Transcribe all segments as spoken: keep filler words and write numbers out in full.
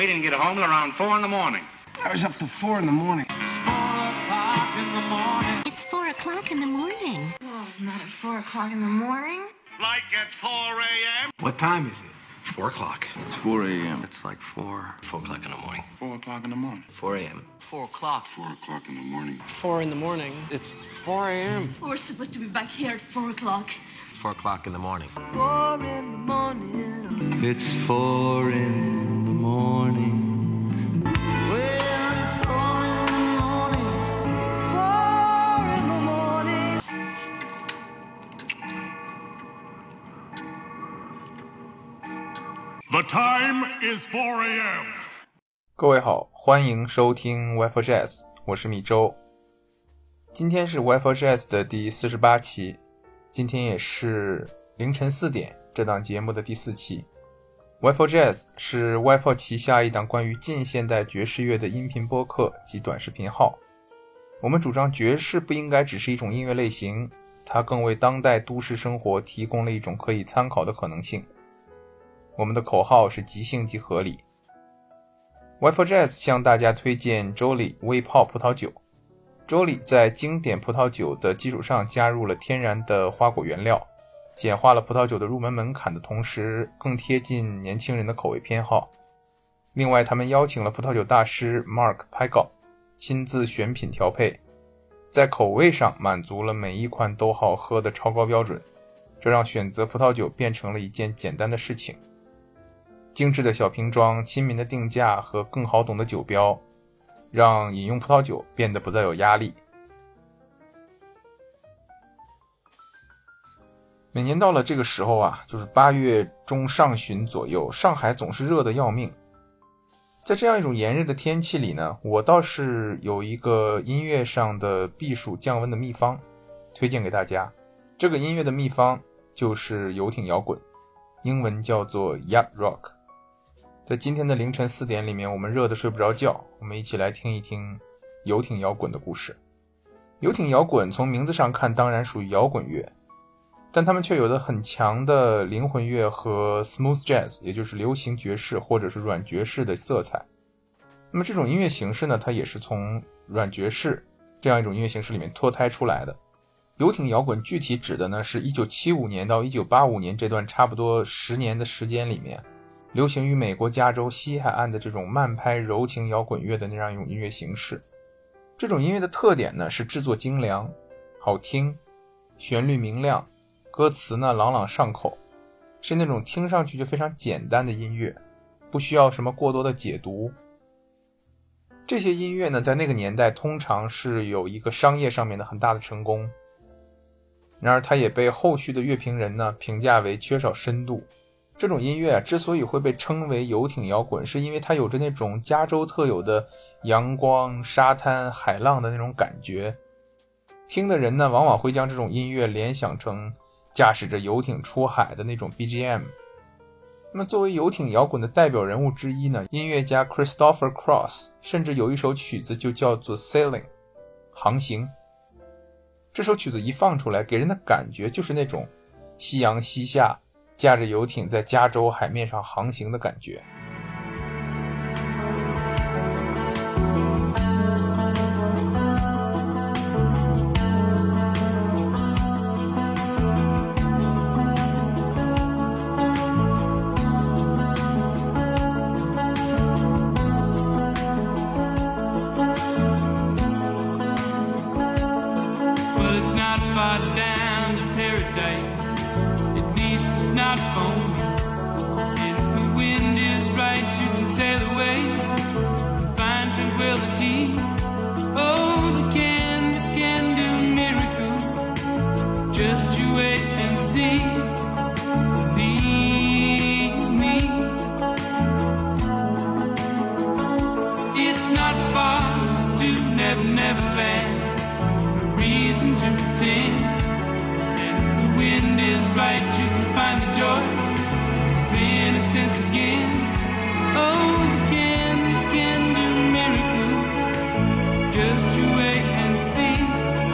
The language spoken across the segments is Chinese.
We didn't get home till around four in the morning. I was up to four in the morning. It's four o'clock in the morning. It's four o'clock in the morning. Oh, not at four o'clock in the morning. Like at four a.m.? What time is it? Four o'clock. It's four a.m. It's like four, four o'clock in the morning. Four o'clock in the morning. Four a.m. Four o'clock. Four o'clock in the morning. Four in the morning. It's four a.m. We're supposed to be back here at four o'clock. Four o'clock in the morning. Four in the morning. It's four in the morning. Well, it's four in the morning. Four in the morning. The time is four a.m. 各位好，欢迎收听 Wi-Fi Jazz， 我是米周。今天是 Wi-Fi Jazz 的第四十八期，今天也是凌晨四点这档节目的第四期。Wi-Fi Jazz 是 Wi-Fi 旗下一档关于近现代爵士乐的音频播客及短视频号。我们主张爵士不应该只是一种音乐类型，它更为当代都市生活提供了一种可以参考的可能性。我们的口号是即兴即合理。Wi-Fi Jazz 向大家推荐周礼微泡葡萄酒。周礼在经典葡萄酒的基础上加入了天然的花果原料，简化了葡萄酒的入门门槛的同时，更贴近年轻人的口味偏好。另外，他们邀请了葡萄酒大师 Mark Pagel 亲自选品调配，在口味上满足了每一款都好喝的超高标准，这让选择葡萄酒变成了一件简单的事情。精致的小瓶装、亲民的定价和更好懂的酒标，让饮用葡萄酒变得不再有压力。每年到了这个时候啊，就是八月中上旬左右，上海总是热得要命。在这样一种炎热的天气里呢，我倒是有一个音乐上的避暑降温的秘方推荐给大家。这个音乐的秘方就是游艇摇滚，英文叫做 Yacht Rock。在今天的凌晨四点里面，我们热得睡不着觉，我们一起来听一听游艇摇滚的故事。游艇摇滚从名字上看当然属于摇滚乐，但他们却有着很强的灵魂乐和 smooth jazz， 也就是流行爵士或者是软爵士的色彩。那么这种音乐形式呢，它也是从软爵士这样一种音乐形式里面脱胎出来的。游艇摇滚具体指的呢，是一九七五年到一九八五年这段差不多十年的时间里面，流行于美国加州西海岸的这种慢拍柔情摇滚乐的那样一种音乐形式。这种音乐的特点呢，是制作精良、好听、旋律明亮，歌词呢朗朗上口，是那种听上去就非常简单的音乐，不需要什么过多的解读。这些音乐呢，在那个年代通常是有一个商业上面的很大的成功，然而它也被后续的乐评人呢评价为缺少深度。这种音乐啊，之所以会被称为游艇摇滚，是因为它有着那种加州特有的阳光、沙滩、海浪的那种感觉。听的人呢，往往会将这种音乐联想成驾驶着游艇出海的那种 B G M。 那么作为游艇摇滚的代表人物之一呢，音乐家 Christopher Cross 甚至有一首曲子就叫做 Sailing 航行。这首曲子一放出来，给人的感觉就是那种夕阳西下，驾着游艇在加州海面上航行的感觉。 Neverland, a reason to pretend. And if the wind is right, you can find the joy of innocence again. Oh, the candles can do miracles. Just you wait and see.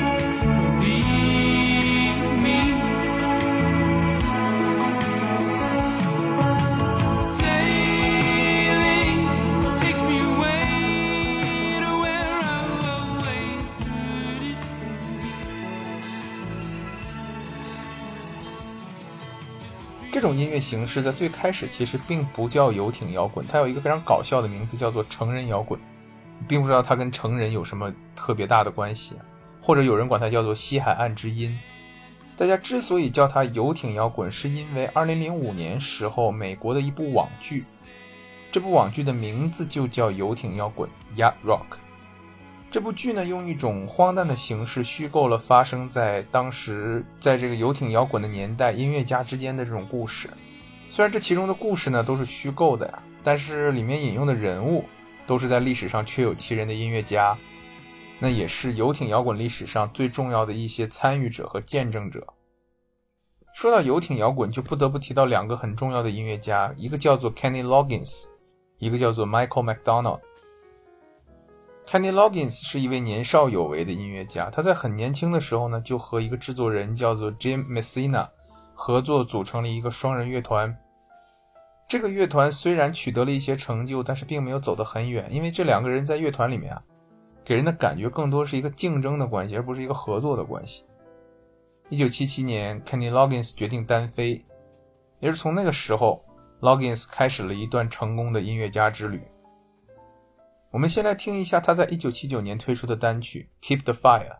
Believe me. Sailing 这种音乐形式在最开始其实并不叫游艇摇滚，它有一个非常搞笑的名字叫做成人摇滚，并不知道它跟成人有什么特别大的关系，或者有人管它叫做西海岸之音。大家之所以叫它游艇摇滚，是因为二零零五年时候美国的一部网剧，这部网剧的名字就叫游艇摇滚 Yacht Rock。 这部剧呢，用一种荒诞的形式虚构了发生在当时在这个游艇摇滚的年代音乐家之间的这种故事。虽然这其中的故事呢都是虚构的呀，但是里面引用的人物都是在历史上确有其人的音乐家，那也是游艇摇滚历史上最重要的一些参与者和见证者。说到游艇摇滚，就不得不提到两个很重要的音乐家，一个叫做 Kenny Loggins， 一个叫做 Michael McDonald。Kenny Loggins 是一位年少有为的音乐家，他在很年轻的时候呢，就和一个制作人叫做 Jim Messina 合作组成了一个双人乐团。这个乐团虽然取得了一些成就，但是并没有走得很远，因为这两个人在乐团里面啊，给人的感觉更多是一个竞争的关系，而不是一个合作的关系。一九七七年 Kenny Loggins 决定单飞，也是从那个时候 Loggins 开始了一段成功的音乐家之旅。我们先来听一下他在一九七九年推出的单曲 Keep the Fire。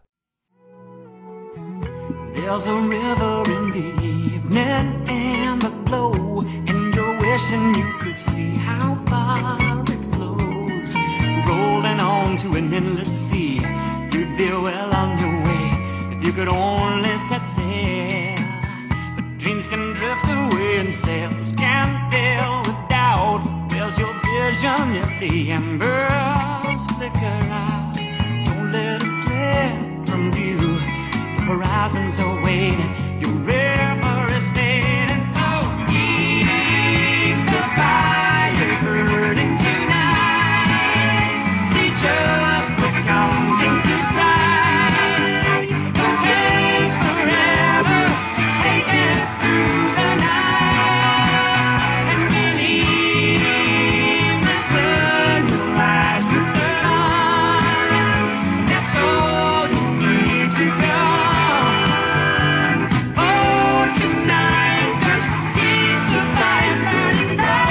There's a river in the evening and the glow, and you're wishing you could see how far it flows, rolling on to an endless sea. You'd be well on your way if you could only set sail. But dreams can drift away and sails can fill with doubt. Where's your vision if the embers flicker out? Don't let it slip from view. The horizons are waiting, your river is fading. So keep the fire burning tonight. See just what comes into sight. Don't take forever, take it through the night. And believe the sun will rise with the dawn. That's all you need to go. Oh, tonight just keep the fire burning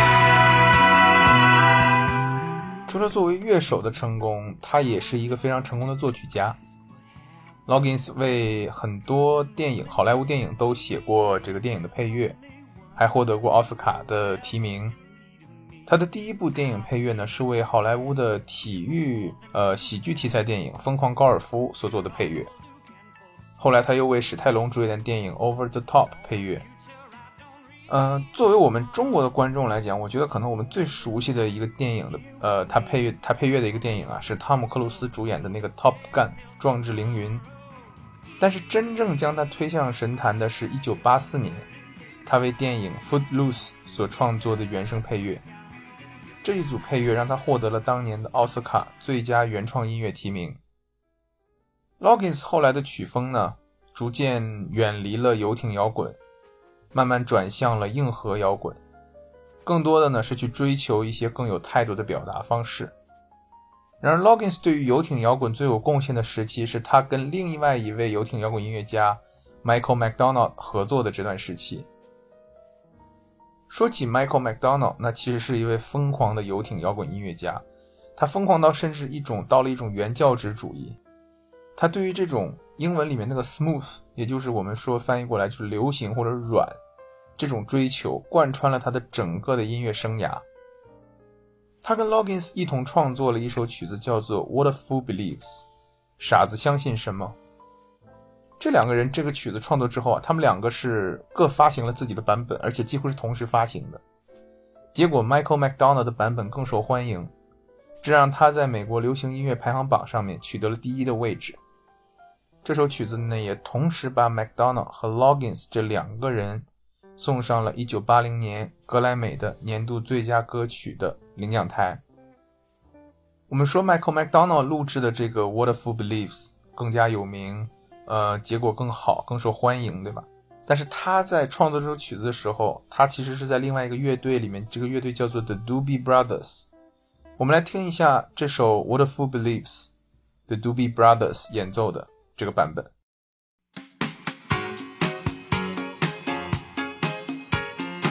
bright. 除了作为乐手的成功，他也是一个非常成功的作曲家。Loggins 为很多电影，好莱坞电影都写过这个电影的配乐，还获得过奥斯卡的提名。他的第一部电影配乐呢，是为好莱坞的体育呃喜剧题材电影《疯狂高尔夫》所做的配乐。后来他又为史泰龙主演的电影《Over the Top》配乐。呃，作为我们中国的观众来讲，我觉得可能我们最熟悉的一个电影的呃他配乐他配乐的一个电影啊，是汤姆克鲁斯主演的那个《Top Gun》壮志凌云。但是真正将他推向神坛的是一九八四年，他为电影《Footloose》所创作的原声配乐。这一组配乐让他获得了当年的奥斯卡最佳原创音乐提名。Loggins 后来的曲风呢，逐渐远离了游艇摇滚，慢慢转向了硬核摇滚，更多的呢是去追求一些更有态度的表达方式。然而 Loggins 对于游艇摇滚最有贡献的时期，是他跟另外一位游艇摇滚音乐家 Michael McDonald 合作的这段时期。说起 Michael McDonald， 那其实是一位疯狂的游艇摇滚音乐家，他疯狂到甚至一种到了一种原教旨主义。他对于这种英文里面那个 smooth， 也就是我们说翻译过来就是流行或者软，这种追求贯穿了他的整个的音乐生涯。他跟 Loggins 一同创作了一首曲子叫做 What a Fool Believes， 傻子相信什么。这两个人这个曲子创作之后啊，他们两个是各发行了自己的版本，而且几乎是同时发行的。结果 Michael McDonald 的版本更受欢迎，这让他在美国流行音乐排行榜上面取得了第一的位置。这首曲子呢，也同时把 McDonald 和 Loggins 这两个人送上了一九八零年格莱美的年度最佳歌曲的领奖台。我们说 Michael McDonald 录制的这个 What a Fool Believes 更加有名，呃，结果更好，更受欢迎，对吧？但是他在创作这首曲子的时候，他其实是在另外一个乐队里面，这个乐队叫做 The Doobie Brothers。 我们来听一下这首 What a Fool Believes The Doobie Brothers 演奏的这个版本。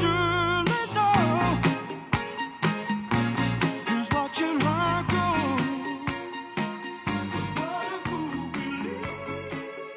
surely know is watching her go. But what if we believe?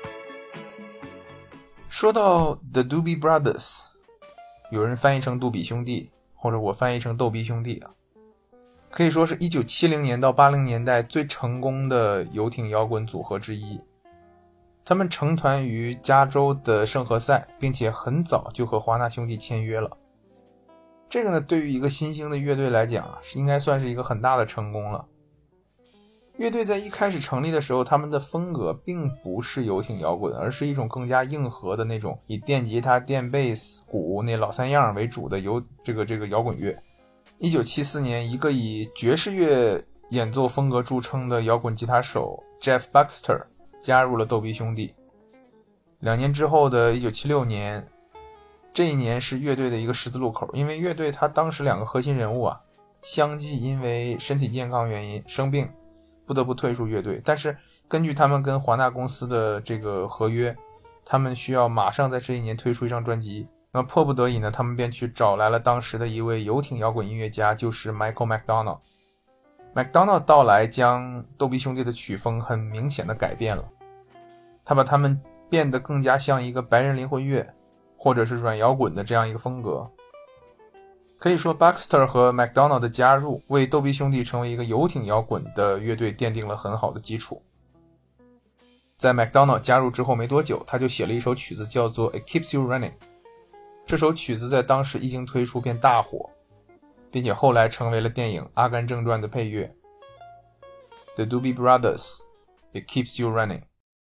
说到 The Doobie Brothers， 有人翻译成杜比兄弟，或者我翻译成逗比兄弟啊，可以说是一九七零年到八零年代最成功的游艇摇滚组合之一。他们成团于加州的圣何塞，并且很早就和华纳兄弟签约了。这个呢，对于一个新兴的乐队来讲啊，是应该算是一个很大的成功了。乐队在一开始成立的时候，他们的风格并不是游艇摇滚，而是一种更加硬核的那种以电吉他、电贝斯、鼓那老三样为主的游这个这个摇滚乐。一九七四年，一个以爵士乐演奏风格著称的摇滚吉他手 Jeff Baxter 加入了逗比兄弟。两年之后的一九七六年，这一年是乐队的一个十字路口，因为乐队他当时两个核心人物啊，相继因为身体健康原因生病，不得不退出乐队。但是根据他们跟华纳公司的这个合约，他们需要马上在这一年推出一张专辑。那迫不得已呢，他们便去找来了当时的一位游艇摇滚音乐家，就是 Michael McDonald。McDonald 到来将逗比兄弟的曲风很明显的改变了，他把他们变得更加像一个白人灵魂乐或者是软摇滚的这样一个风格。可以说 Baxter 和 McDonald 的加入为逗比兄弟成为一个游艇摇滚的乐队奠定了很好的基础。在 McDonald 加入之后没多久，他就写了一首曲子叫做 It Keeps You Running。 这首曲子在当时一经推出便大火，并且后来成为了电影《阿甘正传》的配乐。 The Doobie Brothers It Keeps You Running。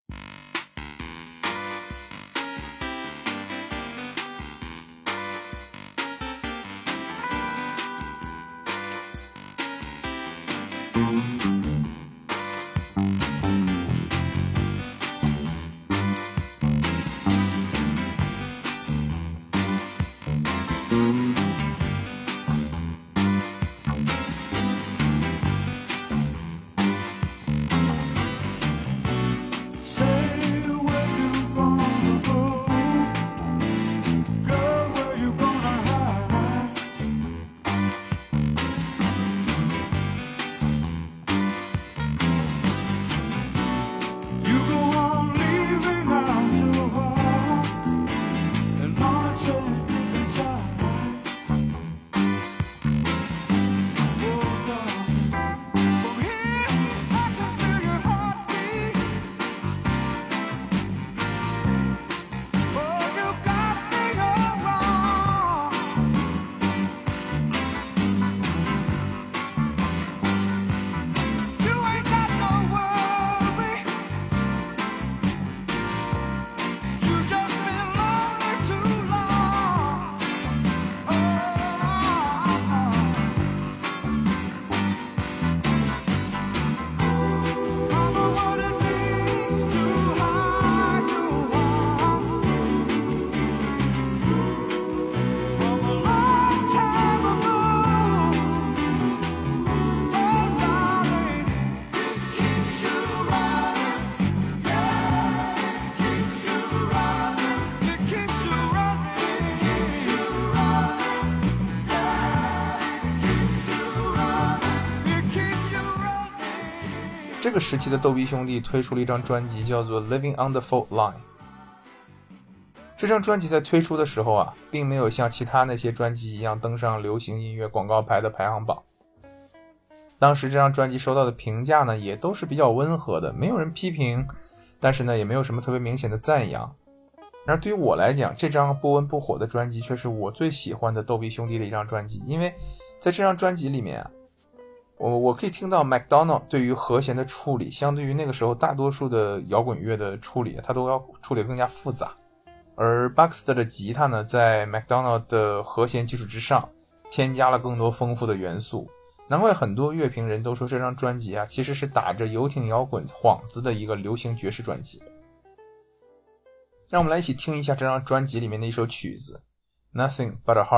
这个时期的逗比兄弟推出了一张专辑叫做 Living on the Fault Line。 这张专辑在推出的时候啊，并没有像其他那些专辑一样登上流行音乐广告牌的排行榜。当时这张专辑收到的评价呢，也都是比较温和的，没有人批评，但是呢，也没有什么特别明显的赞扬。然而对于我来讲，这张不温不火的专辑却是我最喜欢的逗比兄弟的一张专辑，因为在这张专辑里面啊，我我可以听到 McDonald 对于和弦的处理，相对于那个时候大多数的摇滚乐的处理，他都要处理更加复杂。而 Baxter 的吉他呢，在 McDonald 的和弦基础之上，添加了更多丰富的元素。难怪很多乐评人都说这张专辑啊，其实是打着游艇摇滚幌子的一个流行爵士专辑。让我们来一起听一下这张专辑里面的一首曲子 Nothing But a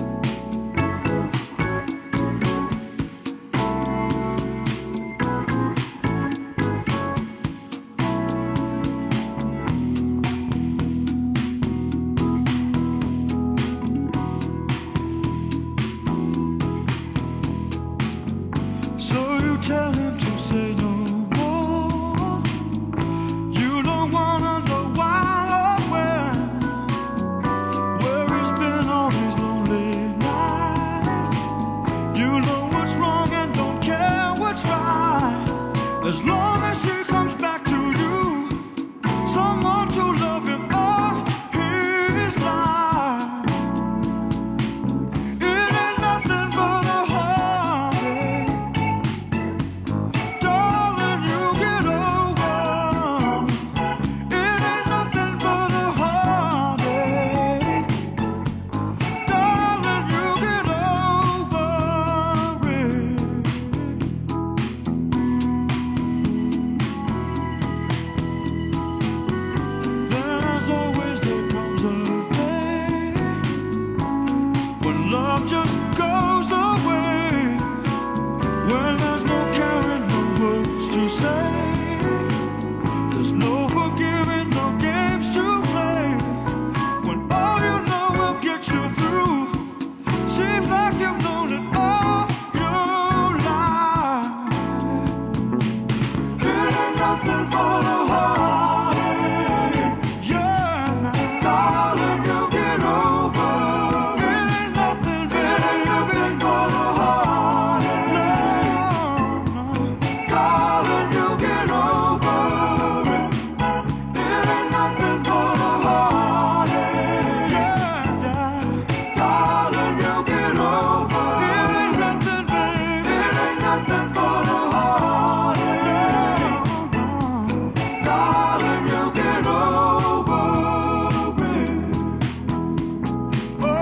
Hardtack。 tell him to say no more. You don't wanna know why or when, where he's been all these lonely nights. You know what's wrong and don't care what's right, as long as he comes back to you, someone to love him all his life. It ain't nothing but a heartache, darling, you get over. It ain't nothing but a heartache, darling, you get over it. There's always, there comes a day when love just goes away, when there's no caring, no words to say, there's no forgiving, no games to play, when all you know will get you through seems like you've known it all your life. It ain't nothing but a heartache, yeah, darling, you get over. It ain't nothing, it ain't nothing but a heartache, no, darling, you get over it. It ain't nothing but a heartache, yeah, darling, you get over it. It ain't nothing, baby, it ain't nothing but a heartache, darling, you get over it. Oh, oh,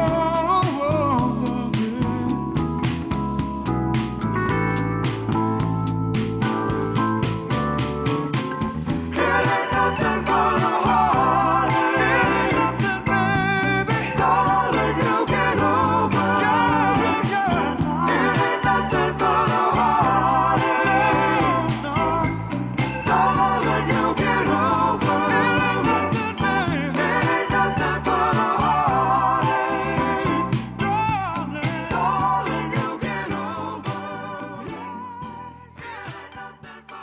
it ain't nothing but a heartache. It ain't nothing, baby, darling, you get over it. It ain't nothing but a heartache, darling, you get over it. It ain't nothing, baby, it ain't nothing but a heartache, darling, darling, you get over it. It ain't nothing but a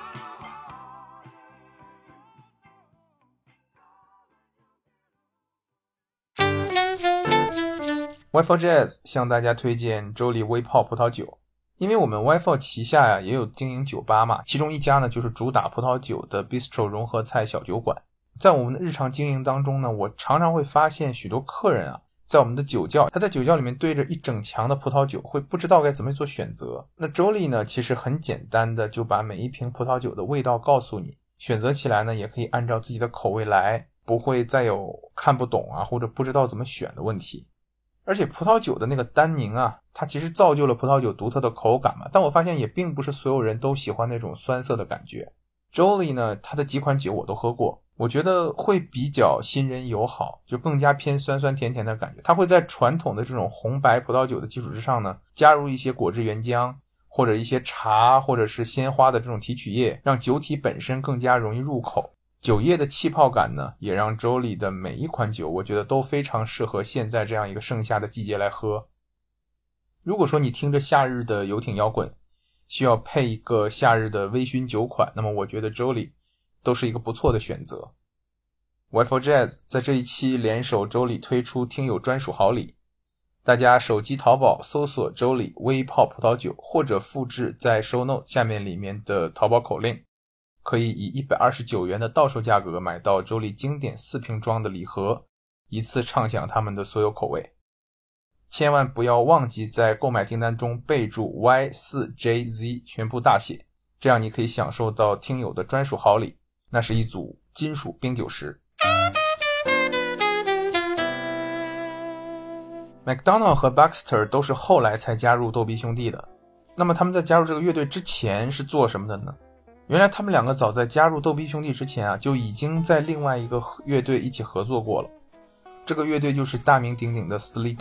Y F O Jazz 向大家推荐周丽微泡葡萄酒，因为我们 Y F O 旗下呀也有经营酒吧嘛，其中一家呢就是主打葡萄酒的 Bistro 融合菜小酒馆。在我们的日常经营当中呢，我常常会发现许多客人啊，在我们的酒窖，他在酒窖里面对着一整墙的葡萄酒，会不知道该怎么做选择。那周丽呢，其实很简单的就把每一瓶葡萄酒的味道告诉你，选择起来呢也可以按照自己的口味来，不会再有看不懂啊或者不知道怎么选的问题。而且葡萄酒的那个单宁啊，它其实造就了葡萄酒独特的口感嘛，但我发现也并不是所有人都喜欢那种酸涩的感觉。Jolly 呢，它的几款酒我都喝过，我觉得会比较新人友好，就更加偏酸酸甜甜的感觉。它会在传统的这种红白葡萄酒的基础之上呢，加入一些果汁原浆，或者一些茶或者是鲜花的这种提取液，让酒体本身更加容易入口。酒液的气泡感呢，也让周丽的每一款酒我觉得都非常适合现在这样一个盛夏的季节来喝。如果说你听着夏日的游艇摇滚，需要配一个夏日的微醺酒款，那么我觉得周丽都是一个不错的选择。Y F O Jazz 在这一期联手周丽推出听友专属好礼，大家手机淘宝搜索周丽微泡葡萄酒，或者复制在 show note 下面里面的淘宝口令，可以以一百二十九元的到手价格买到周丽经典四瓶装的礼盒，一次畅享他们的所有口味。千万不要忘记在购买订单中备注 Y 四 J Z 全部大写，这样你可以享受到听友的专属好礼，那是一组金属冰酒石。McDonald 和 Baxter 都是后来才加入逗比兄弟的，那么他们在加入这个乐队之前是做什么的呢？原来他们两个早在加入逗比兄弟之前啊，就已经在另外一个乐队一起合作过了。这个乐队就是大名鼎鼎的 Steely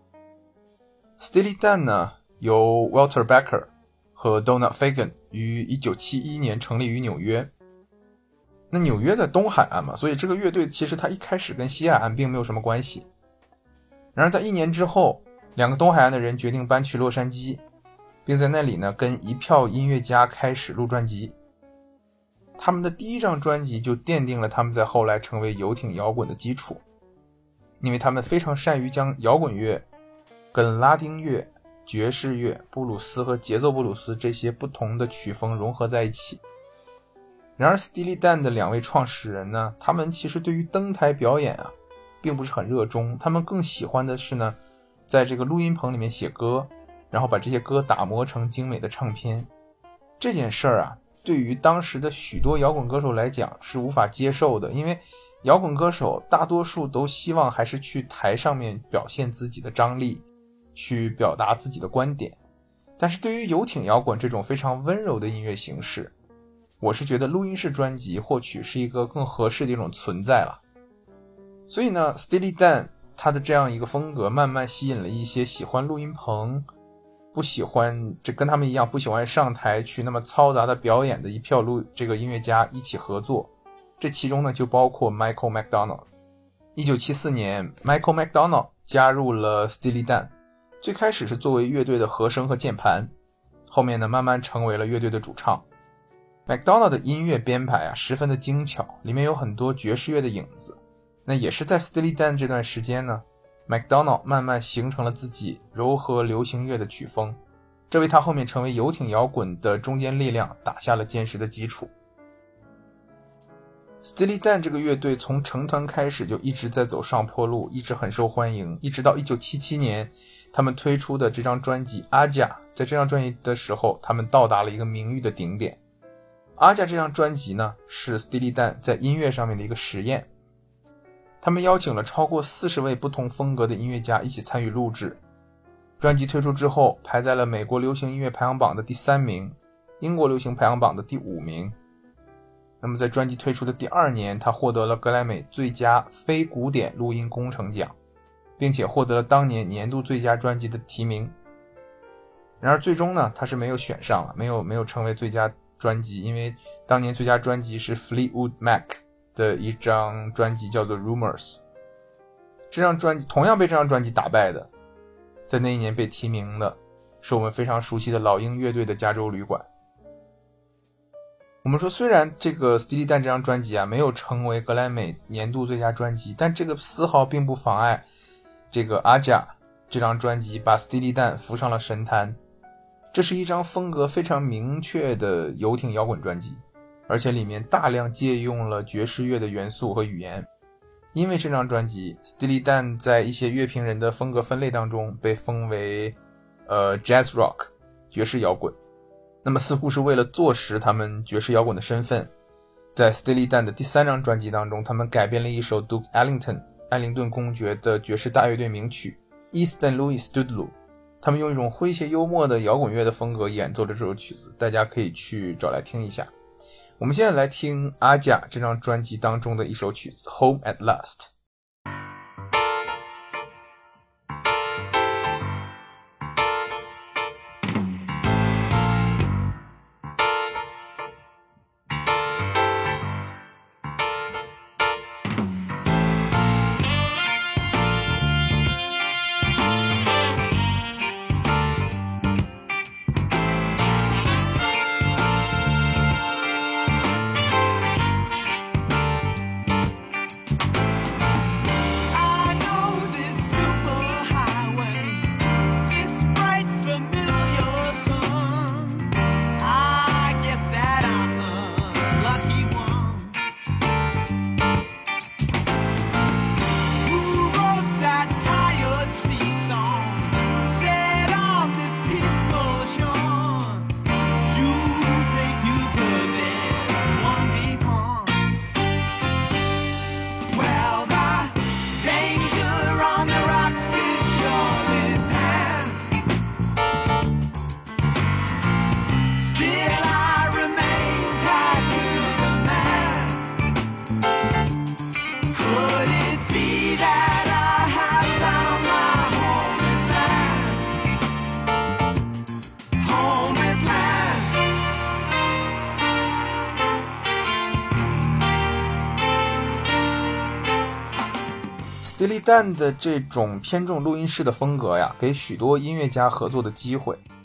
Dan。Steely Dan 呢，由 Walter Becker 和 Donald Fagen 于一九七一年成立于纽约。那纽约在东海岸嘛，所以这个乐队其实它一开始跟西海岸并没有什么关系。然而在一年之后，两个东海岸的人决定搬去洛杉矶， 并在那里呢跟一票音乐家开始录专辑。他们的第一张专辑就奠定了他们在后来成为游艇摇滚的基础，因为他们非常善于将摇滚乐跟拉丁乐、爵士乐、布鲁斯和节奏布鲁斯这些不同的曲风融合在一起。然而 Steely Dan 的两位创始人呢，他们其实对于登台表演啊并不是很热衷，他们更喜欢的是呢在这个录音棚里面写歌，然后把这些歌打磨成精美的唱片。这件事儿啊对于当时的许多摇滚歌手来讲是无法接受的，因为摇滚歌手大多数都希望还是去台上面表现自己的张力，去表达自己的观点。但是对于游艇摇滚这种非常温柔的音乐形式，我是觉得录音室专辑或许是一个更合适的一种存在了。所以呢 Steely Dan 他的这样一个风格慢慢吸引了一些喜欢录音棚，不喜欢这跟他们一样不喜欢上台去那么嘈杂的表演的一票录这个音乐家一起合作。这其中呢就包括 Michael McDonald。 一九七四年 Michael McDonald 加入了 Steely Dan， 最开始是作为乐队的和声和键盘，后面呢慢慢成为了乐队的主唱。 McDonald 的音乐编排啊十分的精巧，里面有很多爵士乐的影子。那也是在 Steely Dan 这段时间呢McDonald 慢慢形成了自己柔和流行乐的曲风，这为他后面成为游艇摇滚的中坚力量打下了坚实的基础。Steely Dan 这个乐队从成团开始就一直在走上坡路，一直很受欢迎，一直到一九七七年他们推出的这张专辑 Aja， 在这张专辑的时候他们到达了一个名誉的顶点。 Aja 这张专辑呢是 Steely Dan 在音乐上面的一个实验，他们邀请了超过四十位不同风格的音乐家一起参与录制。专辑推出之后排在了美国流行音乐排行榜的第三名，英国流行排行榜的第五名。那么在专辑推出的第二年，他获得了格莱美最佳非古典录音工程奖，并且获得了当年年度最佳专辑的提名。然而最终呢他是没有选上了，没有没有成为最佳专辑，因为当年最佳专辑是 Fleetwood Mac的一张专辑叫做 Rumors。 这张专辑同样被这张专辑打败的，在那一年被提名的是我们非常熟悉的老鹰乐队的加州旅馆。我们说虽然这个 Steely Dan 这张专辑啊没有成为格莱美年度最佳专辑，但这个丝毫并不妨碍这个 Aja 这张专辑把 Steely Dan 扶上了神坛。这是一张风格非常明确的游艇摇滚专辑，而且里面大量借用了爵士乐的元素和语言。因为这张专辑 Steely Dan 在一些乐评人的风格分类当中被封为呃 Jazz Rock 爵士摇滚。那么似乎是为了坐实他们爵士摇滚的身份，在 Steely Dan 的第三张专辑当中，他们改编了一首 Duke Ellington 艾灵顿公爵的爵士大乐队名曲 East Saint Louis Studloo， 他们用一种诙谐幽默的摇滚乐的风格演奏了这首曲子，大家可以去找来听一下。我们现在来听 Aja 这张专辑当中的一首曲子 Home at Last。Steely Dan 的这种偏重录音室的风格呀，给许多音乐家合作的机会。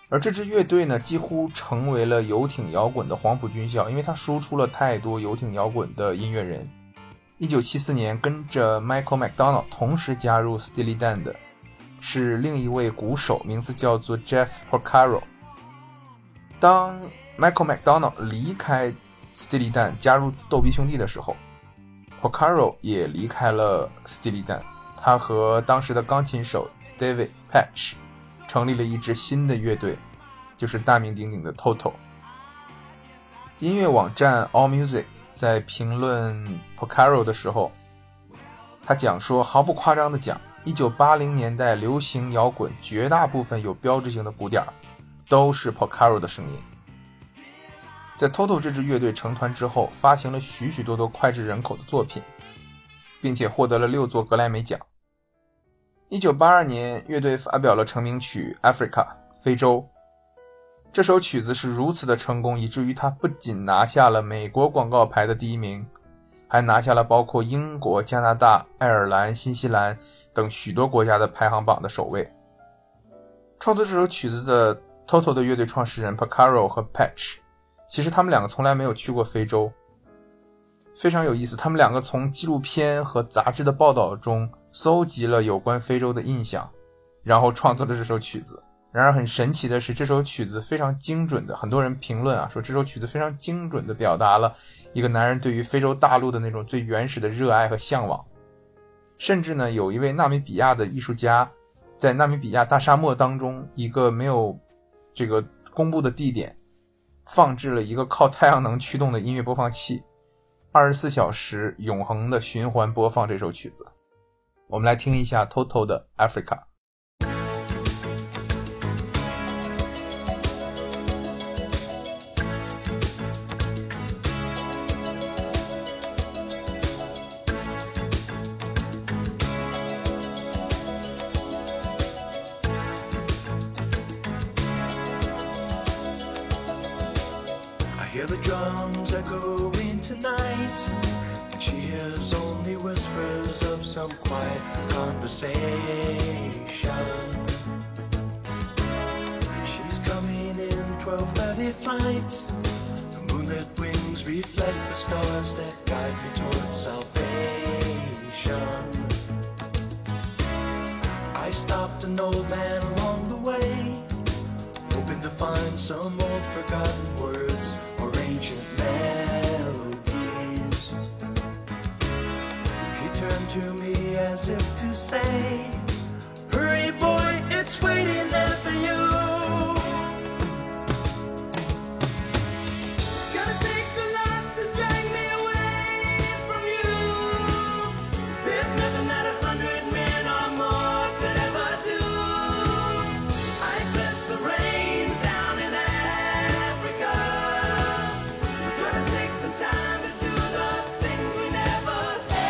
而这支乐队呢，几乎成为了游艇摇滚的黄埔军校，因为它输出了太多游艇摇滚的音乐人。一九七四年跟着 Michael McDonald 同时加入 Steely Dan 的是另一位鼓手，名字叫做 Jeff Porcaro。 当 Michael McDonald 离开 Steely Dan 加入逗比兄弟的时候， Porcaro 也离开了 Steely Dan， 他和当时的钢琴手 David Patch 成立了一支新的乐队，就是大名鼎鼎的 Toto。 音乐网站 AllMusic 在评论 Porcaro 的时候，他讲说，毫不夸张地讲，一九八零年代流行摇滚绝大部分有标志性的鼓点都是 Porcaro 的声音。在 Toto 这支乐队成团之后，发行了许许多多脍炙人口的作品，并且获得了六座格莱美奖。一九八二年，乐队发表了成名曲 Africa 非洲。这首曲子是如此的成功，以至于它不仅拿下了美国广告牌的第一名，还拿下了包括英国、加拿大、爱尔兰、新西兰等许多国家的排行榜的首位。创作这首曲子的 Toto 的乐队创始人 Porcaro 和 Patch， 其实他们两个从来没有去过非洲。非常有意思，他们两个从纪录片和杂志的报道中搜集了有关非洲的印象，然后创作了这首曲子。然而很神奇的是，这首曲子非常精准的，很多人评论啊说这首曲子非常精准的表达了一个男人对于非洲大陆的那种最原始的热爱和向往。甚至呢，有一位纳米比亚的艺术家在纳米比亚大沙漠当中一个没有这个公布的地点放置了一个靠太阳能驱动的音乐播放器，二十四小时永恒的循环播放这首曲子。我们来听一下 Toto 的 Africa。Hear the drums echoing tonight, and she hears only whispers of some quiet conversation. She's coming in twelve thirty flight. The moonlit wings reflect the stars that guide me towards salvation. I stopped an old man along the way, hoping to find some old forgotten words or ancient melodies. He turned to me as if to say, hurry boy, it's waiting there for you. It's gonna take a lot to drag me away from you. There's nothing that a hundred men or more could ever do. I bless the rains down in Africa. We're gonna take some time to do the things we never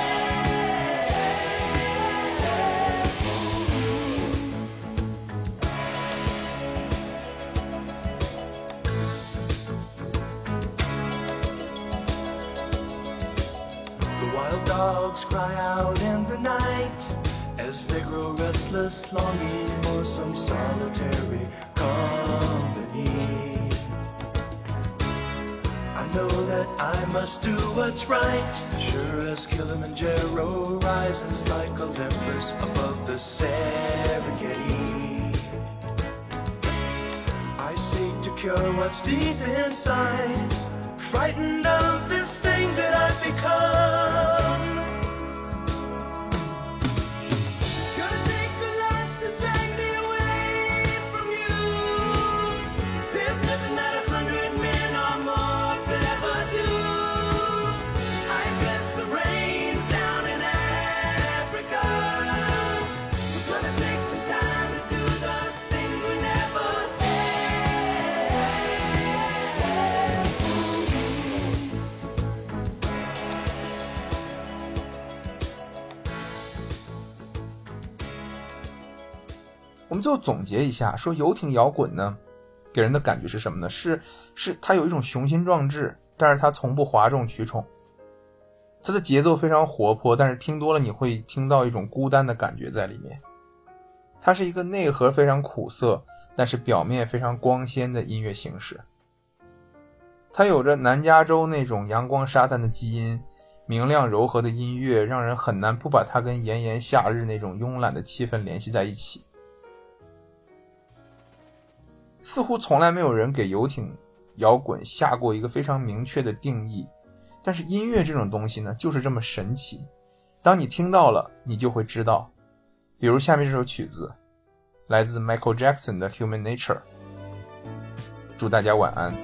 The wild dogs cry out in the night as they grow restless, longing for some solitary company. I know that I must do what's right, sure as Kilimanjaro rises like Olympus above the Serengeti. I seek to cure what's deep inside, frightened of this thing that I've become. It's gonna take a lot to drag me away from you. There's nothing that a hundred men or more could ever do. I bless the rains down in Africa. We're gonna take some time to do the things we never had. 我们最后总结一下，说游艇摇滚呢，给人的感觉是什么呢？是是它有一种雄心壮志，但是它从不哗众取宠。它的节奏非常活泼，但是听多了你会听到一种孤单的感觉在里面。它是一个内核非常苦涩， 但是表面非常光鲜的音乐形式。它有着南加州那种阳光沙滩的基因，明亮柔和的音乐让人很难不把它跟炎炎夏日那种慵懒的气氛联系在一起。似乎从来没有人给游艇摇滚下过一个非常明确的定义，但是音乐这种东西呢，就是这么神奇，当你听到了你就会知道。比如下面这首曲子来自 Michael Jackson 的 Human Nature。 祝大家晚安。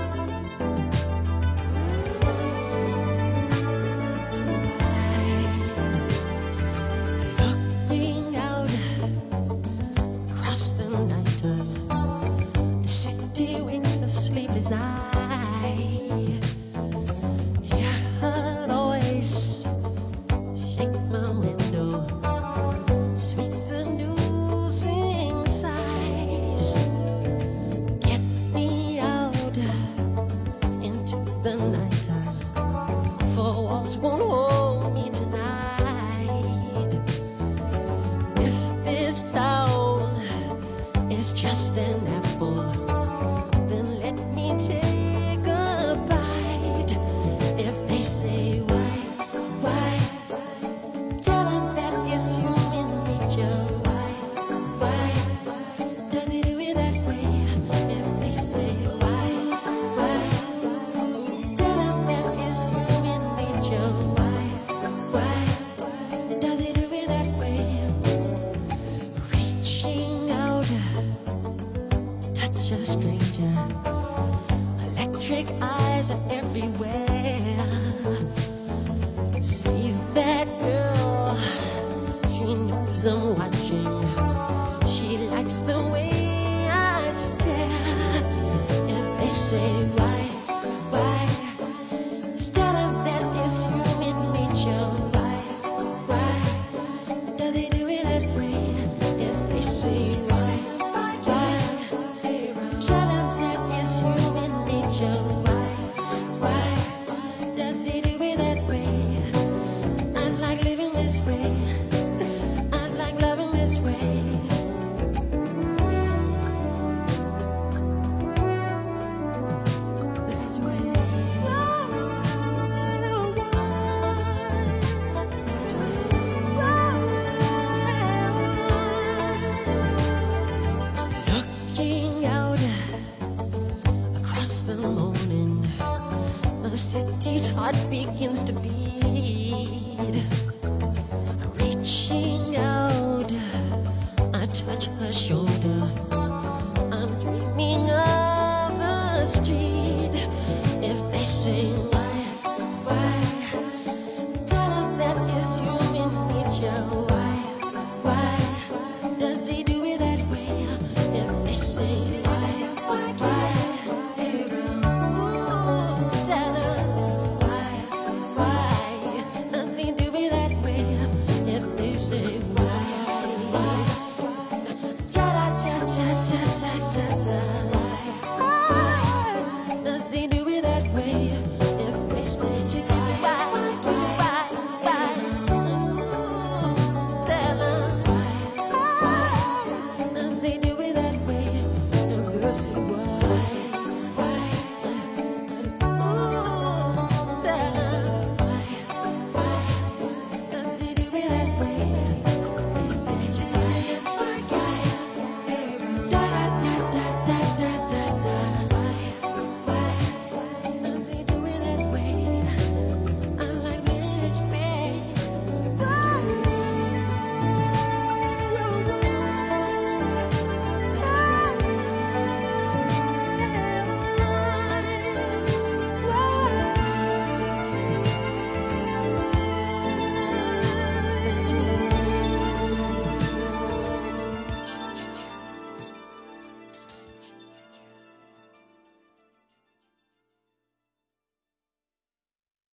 Won't hold me tonight. If this town is just an apple, then let me take a bite. If they say why, why, tell them that it's human nature. Why, why, does he do it that way? If they say why, why, tell them that it's human nature. Why, why, does he do it that way? Reaching out, touch a stranger. Electric eyes are everywhere. See that girl, she knows I'm watching. She likes the way I stare. If they say why, why, tell them that it's human nature. Why, why, does he do it that way? If they say why, why, tell them that it's human nature. Why, why, does he do it that way? I like living this way. I like loving this way. That way. Looking out across the morning, the city's heart begins to beat.